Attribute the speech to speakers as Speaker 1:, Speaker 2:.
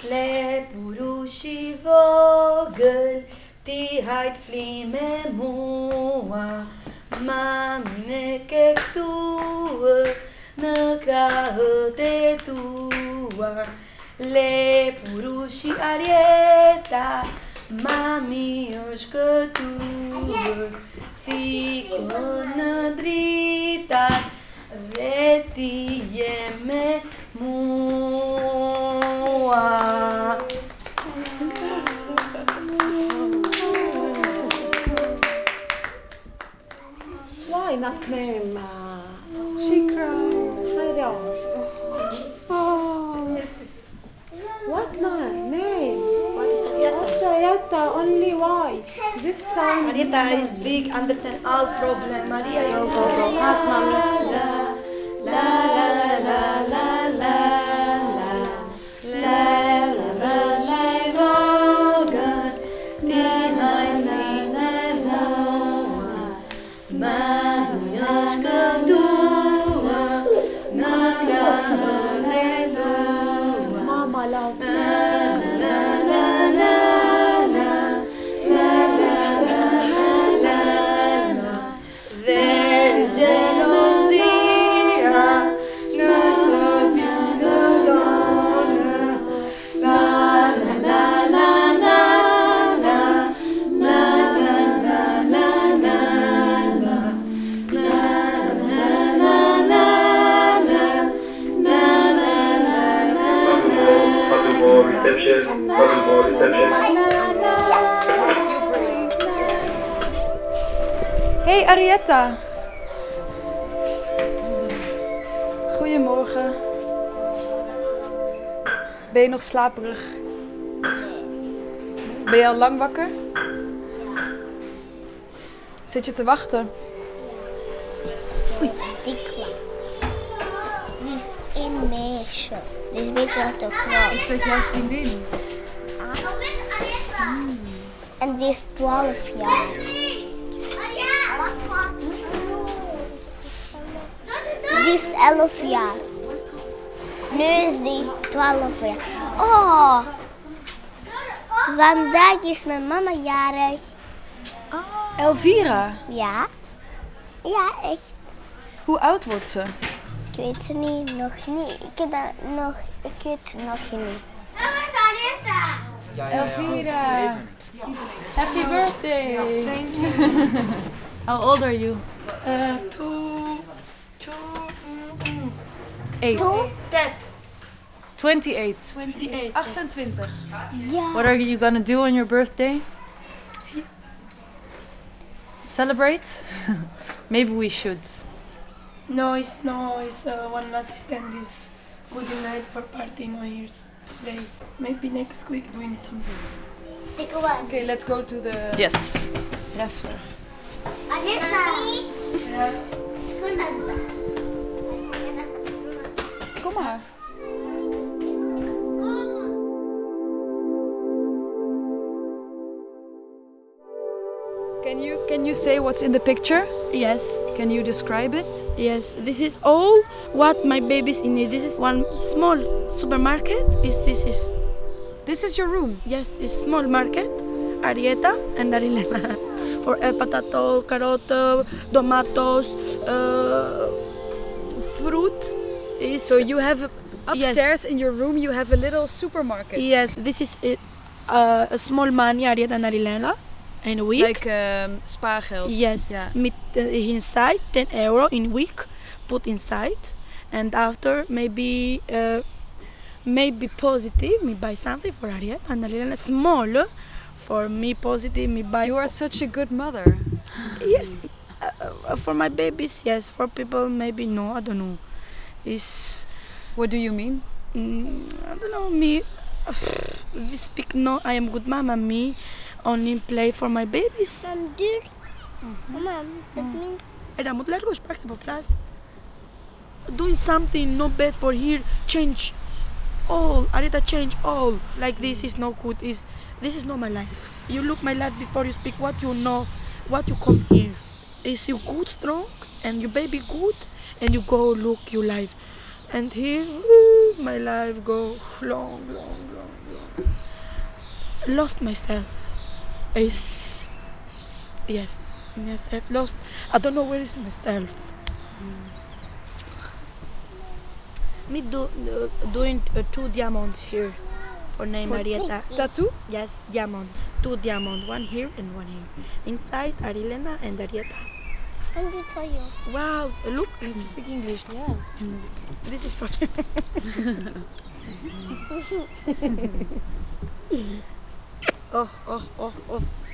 Speaker 1: Lepurushi vogel, die heit flime moa. Mami kek tua, ne krahe de tua. Lepurushi arieta, mami oshke tua. Fico na drita, reti yeme moa.
Speaker 2: Why not name? She cried. Oh, what name?
Speaker 1: What is Arieta?
Speaker 2: Arietta, only why? This sound
Speaker 1: Arieta is big, understand all problem. Maria, you
Speaker 2: Go. Hot mommy.
Speaker 1: la la la la la la la la la shivogan di na Manioshka dua na krahane dua.
Speaker 2: Mama love.
Speaker 3: Hey Arietta. Goedemorgen. Ben je nog slaperig? Ben je al lang wakker? Zit je te wachten?
Speaker 4: Dikla. Die is een meisje. Die is een beetje te groot.
Speaker 3: Is dat jouw vriendin?
Speaker 4: En die is 12 jaar. Die is 11 jaar. Nu is die 12 jaar. Oh! Vandaag is mijn mama jarig.
Speaker 3: Elvira.
Speaker 4: Ja? Ja, echt.
Speaker 3: Hoe oud wordt ze?
Speaker 4: Ik weet ze niet, nog niet. Ik weet het nog niet.
Speaker 3: Elvira. Happy birthday.
Speaker 1: Thank you.
Speaker 3: How old are you? Eight.
Speaker 1: That
Speaker 3: 28.
Speaker 1: 28.
Speaker 3: 28.
Speaker 4: Ja.
Speaker 3: What are you gonna do on your birthday? Celebrate? Maybe we should.
Speaker 1: No, it's one assistant is good night for party no here today. Maybe next week doing something.
Speaker 3: Okay, let's go to the
Speaker 1: Yes.
Speaker 3: rafter. Kom maar. Can you say what's in the picture?
Speaker 1: Yes.
Speaker 3: Can you describe it?
Speaker 1: Yes, this is all what my baby's in it. This is one small supermarket.
Speaker 3: This is your room.
Speaker 1: Yes, it's small market. Arieta and Arilena. For potato, carrot, tomatoes, fruit. Is
Speaker 3: So you have upstairs in your room you have a little supermarket.
Speaker 1: yes, this is a small money Arieta and Arilena in a week.
Speaker 3: Like spaargeld.
Speaker 1: Yes,
Speaker 3: Yeah.
Speaker 1: inside 10 euro in week, put inside, and after maybe positive, me buy something for Ariel and Ariel small, for me positive, me buy.
Speaker 3: You are such a good mother.
Speaker 1: Yes, for my babies, yes. For people, maybe no, I don't know. It's
Speaker 3: What do you mean?
Speaker 1: I don't know me. This speak no, I am good mama. Me only play for my babies.
Speaker 4: Dan duur. Mama, dat means...
Speaker 1: En dan moet largo sprake por flash. Doing something not bad for here. Change all. Arita change all. Like this is no good. This is not my life. You look my life before you speak what you know, what you come here. Is you good, strong, and your baby good, and you go look your life. And here, my life go long, long, long, long. lost myself. Is yes, I've lost. I don't know where is myself. Me doing 2 diamonds here for name Arieta.
Speaker 3: Tattoo?
Speaker 1: Yes, diamond. 2 diamond, one here and one here. Inside Arilena and Arieta.
Speaker 4: And this for you.
Speaker 1: Wow, look, you speak English.
Speaker 3: Yeah.
Speaker 1: This is for oh.